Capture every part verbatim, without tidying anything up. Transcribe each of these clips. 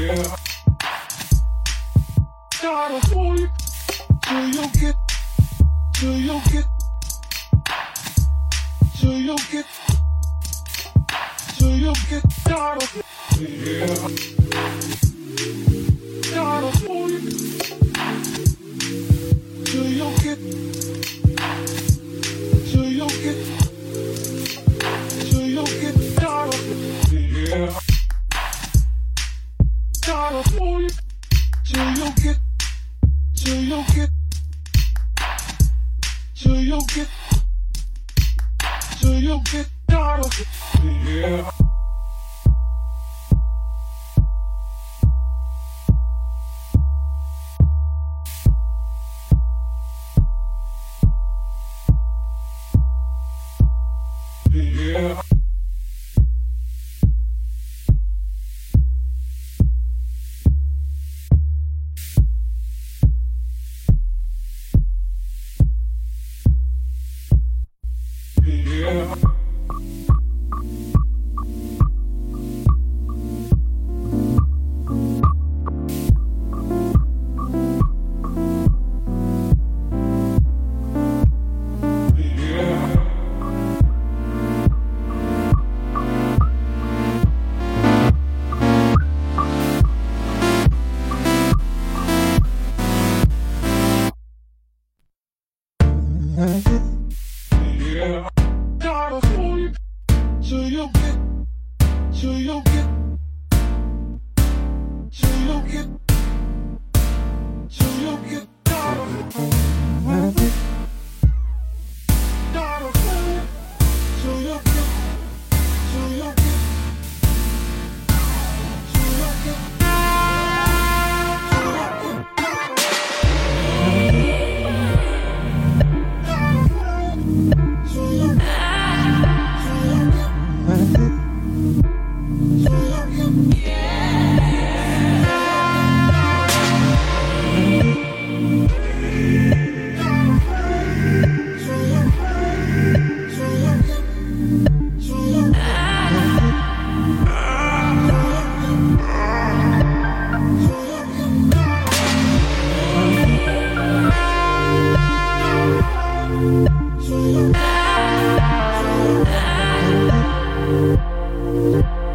Gotta hold it till you get, till you get, till you get, till you get. Gotta, yeah. Gotta hold it till you get, till you get, till you get. Gotta, yeah. Gotta hold it till you get, till you get, till you get, till you get. Gotta, yeah. Yeah. Yeah. Yeah. Gotta hold it till you get, till you get, till you get, till you get. Gotta hold it, gotta hold it till you get, till you get, till you get, till you get. So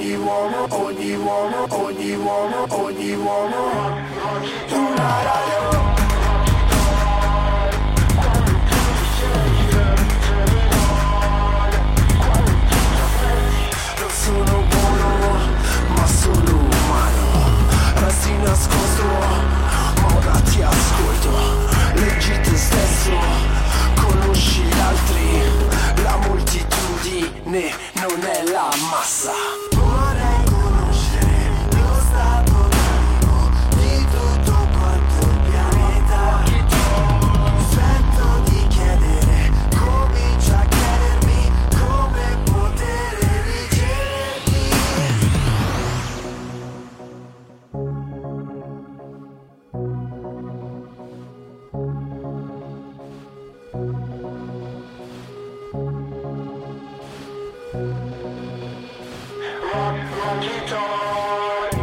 ogni uomo, ogni uomo, ogni uomo, ogni uomo, una radio. Non sono buono, ma sono umano, resti nascosto, ma ora ti ascolto, leggi te stesso, conosci gli altri, la moltitudine non è la massa. Vorrei conoscere lo stato d'animo di tutto quanto il pianeta. Sento di chiedere, comincio a chiedermi come poter ricedermi. Rock, rocky toy.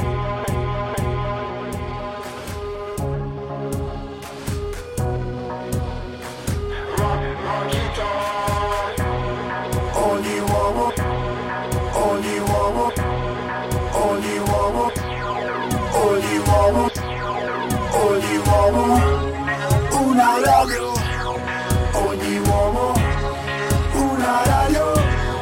Rock, rocky toy. Ogni uomo, ogni uomo, ogni uomo, ogni uomo, ogni uomo, una radio. Ogni uomo, una radio.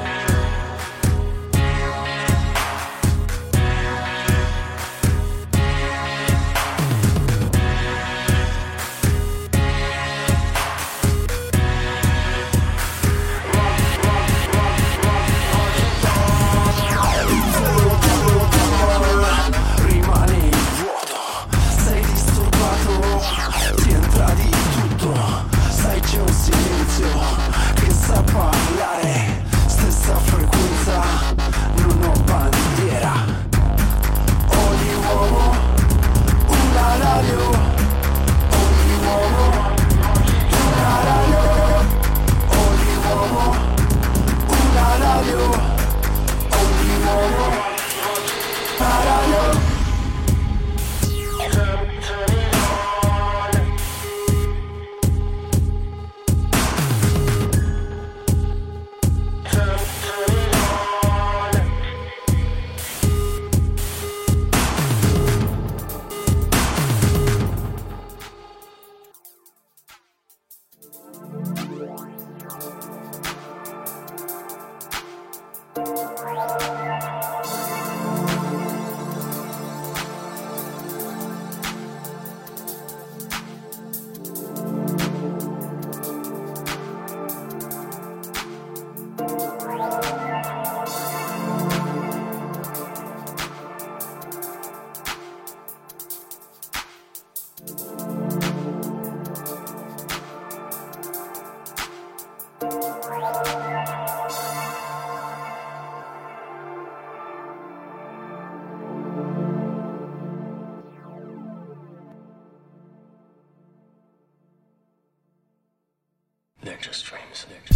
Rimane il vuoto, sei disturbato, ti entra di tutto, sai c'è un silenzio che sa parlare, stessa frequenza, non ho bandiera. Ogni uomo, una radio, ogni uomo, una radio, ogni uomo, una radio, ogni uomo, una radio. Nectar streams, nectar.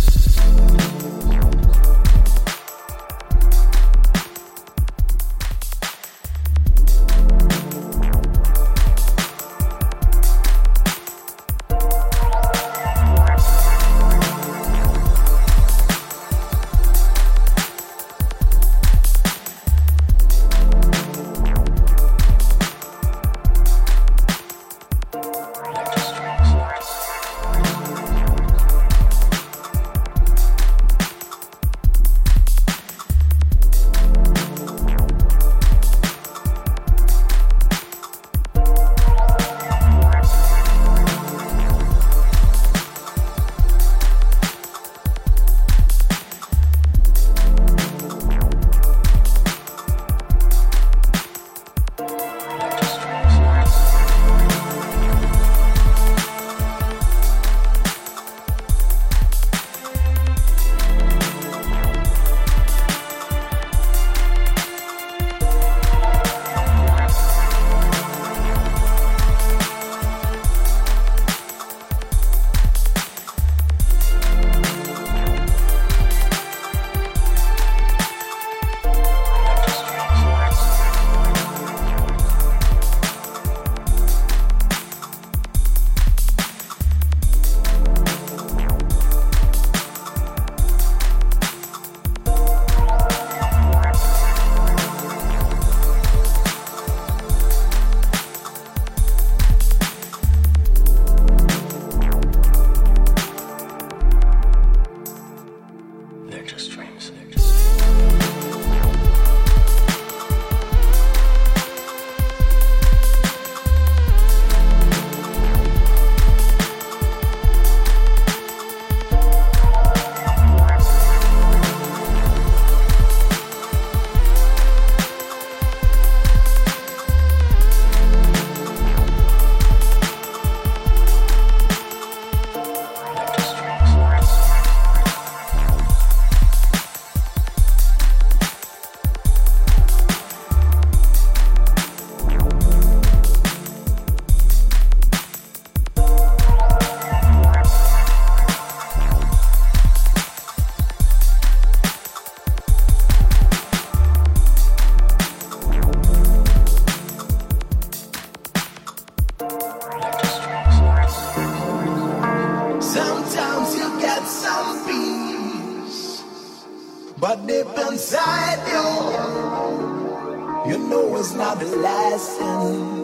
You know it's not the last thing.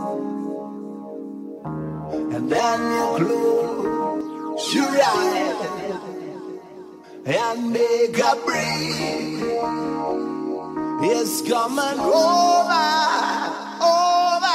And then you close your eyes and make a break. It's coming over, over.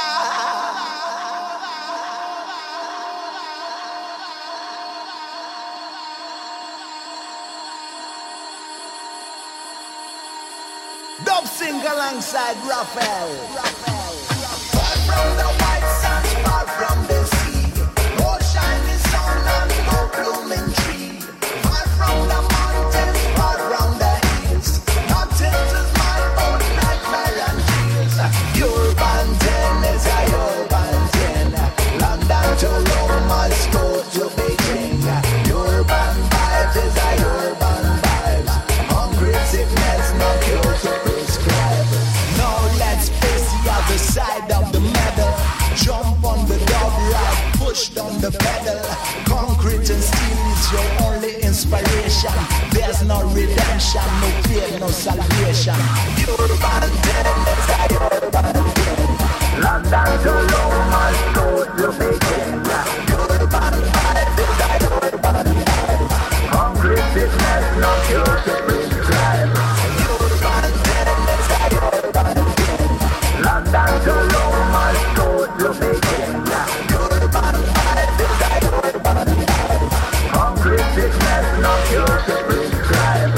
Dub sing alongside Raphael. Far from the white sands, far from the sea, no shining sun and no blooming tree. Far from the mountains, far from the hills, nothing to smile but nightmare and tears. Urban ten is a urban ten, London to Rome, Moscow to Beijing. Urban vibes is a urban vibes, hungry sickness, no cure to prescribe. Now let's face the other side of the medal. Jump on the dub ride, push down the pedal. Concrete and steel is your only inspiration. There's no redemption, no fear, no salvation. Urban tennis, urban tennis. London to Rome, Moscow to Beijing. Urban vibes is a urban vibes. Concrete sickness, no cure to prescribe. Urban tennis, urban tennis. London to Rome, Moscow to Beijing. Urban vibes is a urban vibes. Concrete sickness, no cure to prescribe.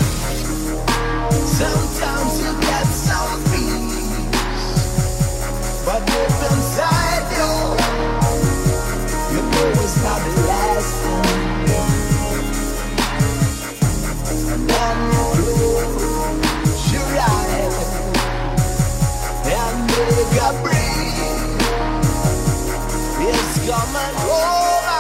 Sometimes you get some peace, but deep inside you, you know it's not the last thing. And then you close your eyes and make a breathe. It's coming over.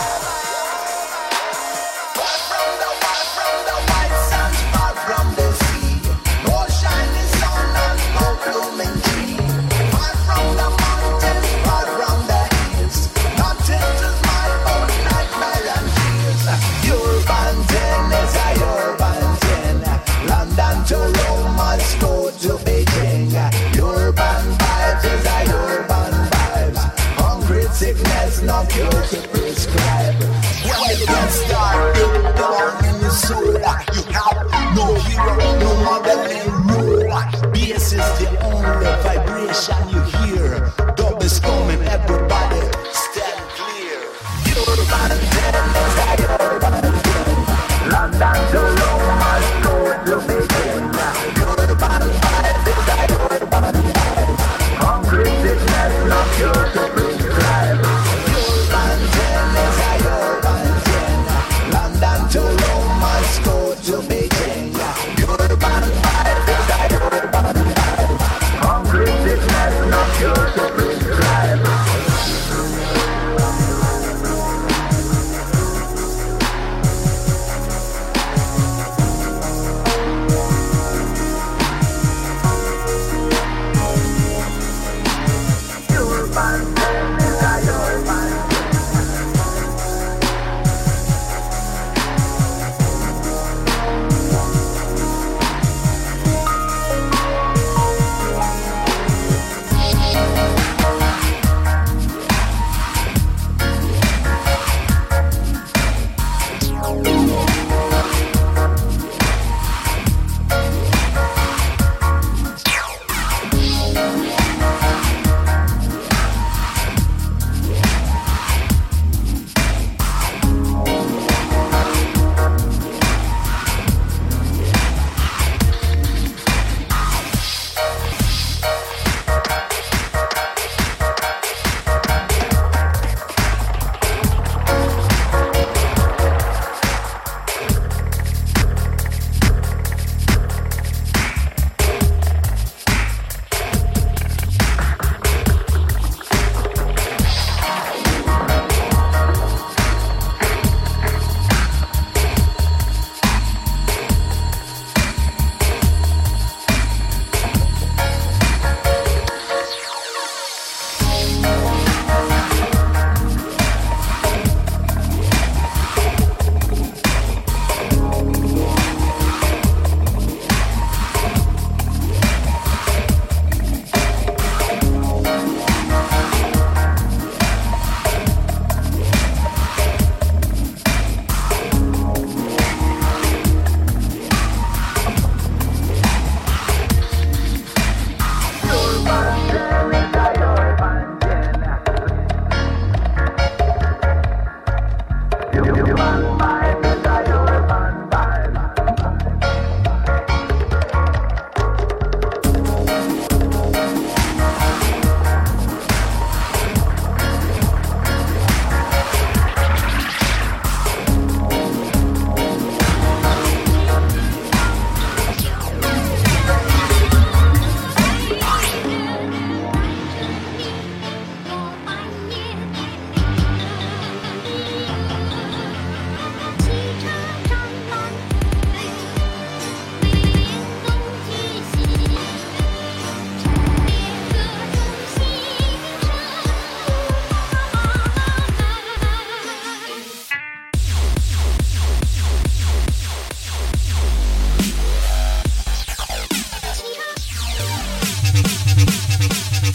Far from the far from the white sands, far from the sea, no shining sun and no blooming tree. Far from the mountains, far from the hills, nothing to smile but nightmare and tears. Urban ten is a urban ten, London to Rome, Moscow to Beijing. Urban vibes is a urban vibes, hungry sickness, no cure to prescribe. When you get started down in your soul, you have no hero, no modeling rule. Bass is the only vibration you hear. Dub is coming, everybody stand clear. Urban tennis, urban tennis. London to Rome, Moscow to Beijing. Urban vibes is a urban vibes. Hungry sickness, no cure to prescribe. Urban tennis, urban tennis. London to Rome, Moscow to Beijing. Urban vibes is a urban vibes. Hungry sickness, no cure.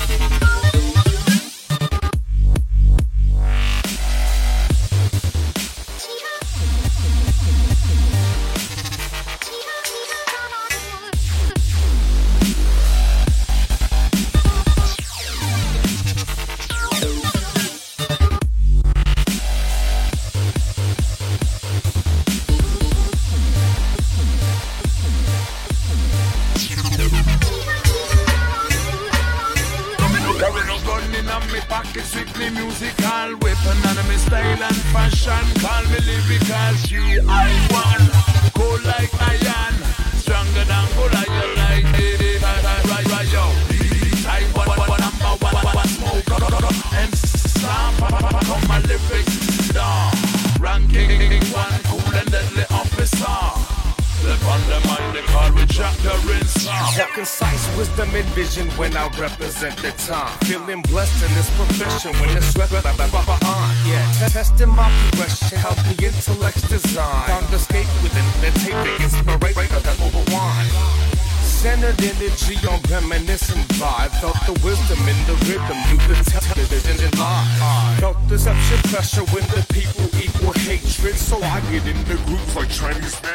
When I represent the time, feeling blessed in this profession. When it's sweat on, yeah, testing my progression, help the intellect's design. Found escape within the tape, inspiration that overwine. Centered energy on reminiscent vibe. Felt the wisdom in the rhythm, you could tell it in the line. Felt deception pressure when the people equal hatred, so I get in the groups like Chinese men.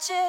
watch it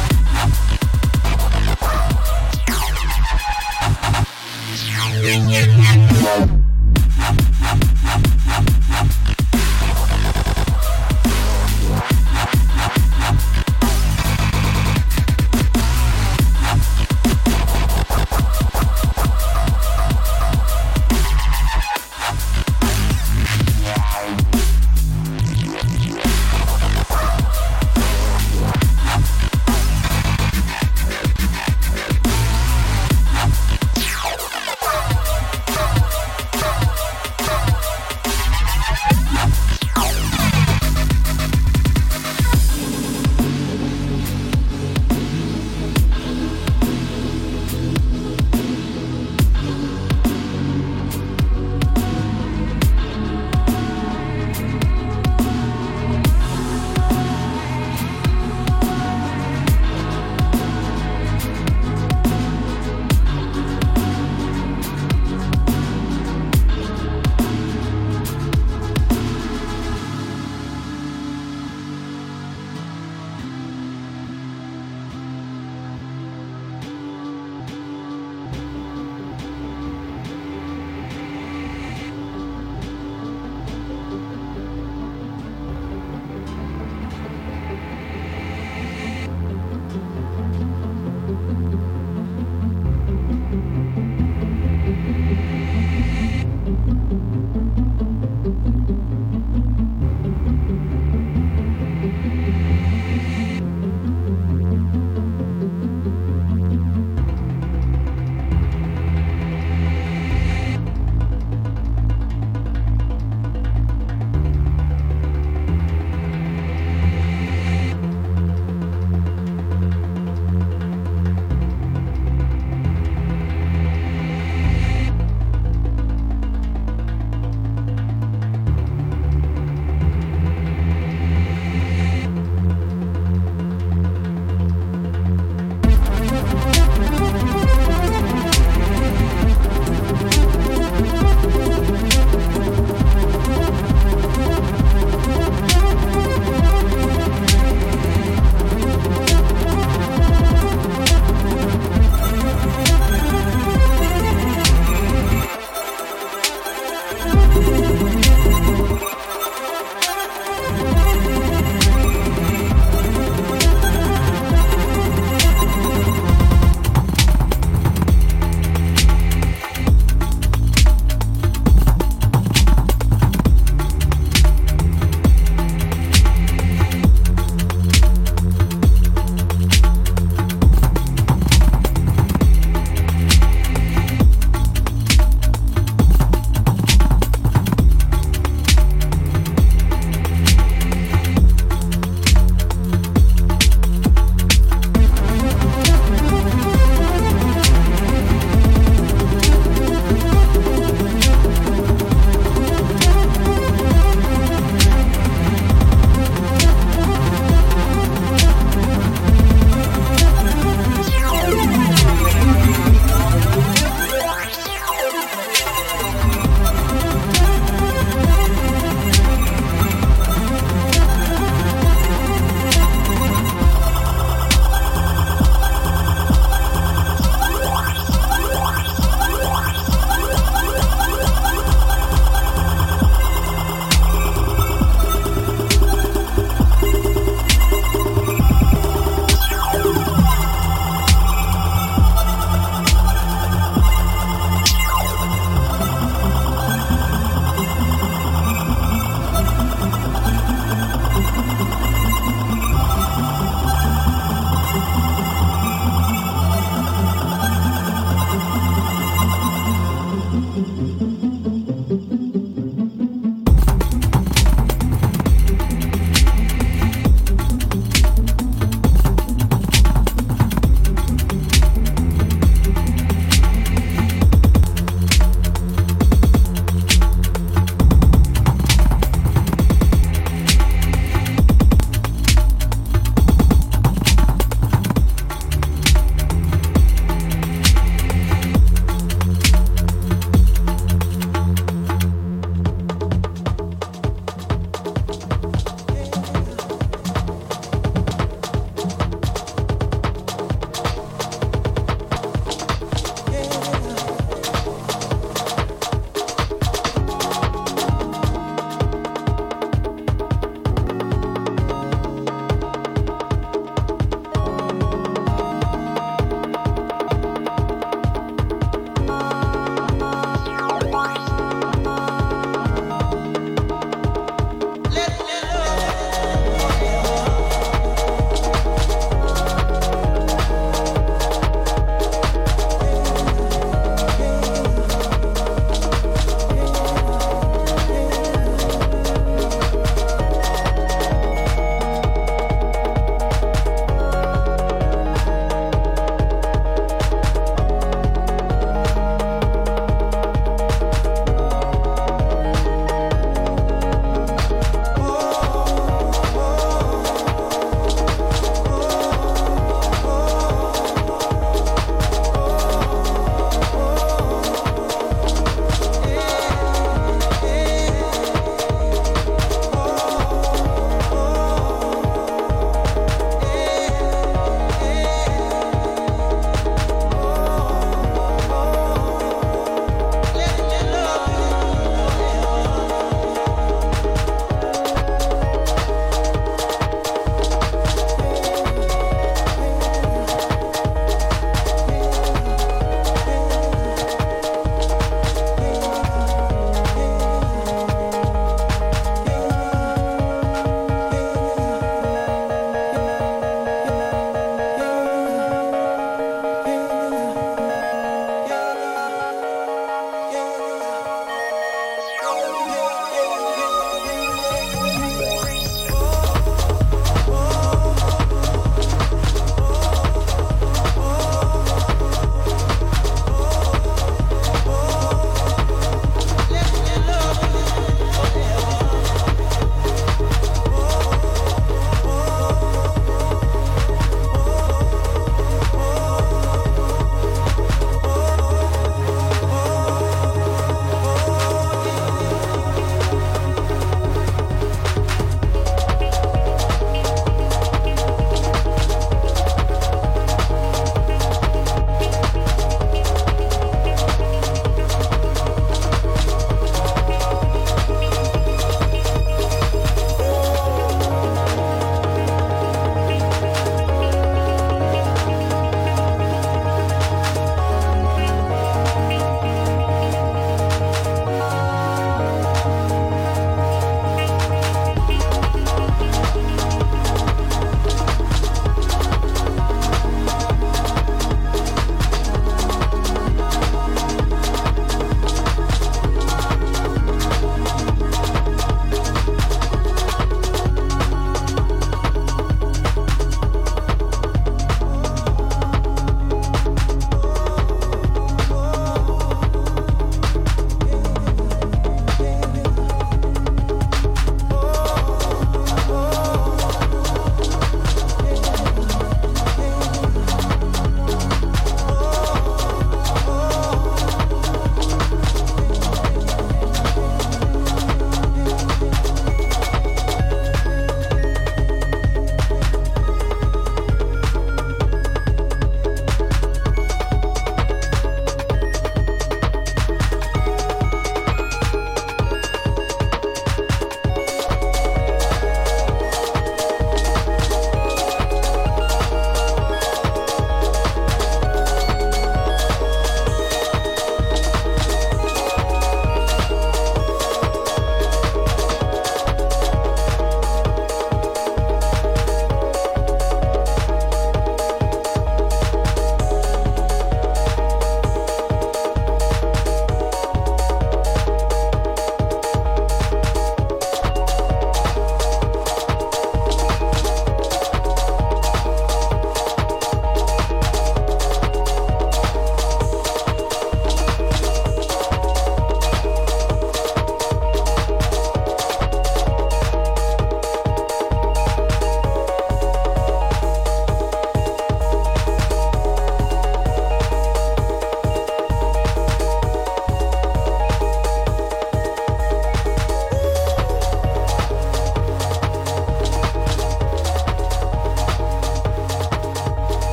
Yeah.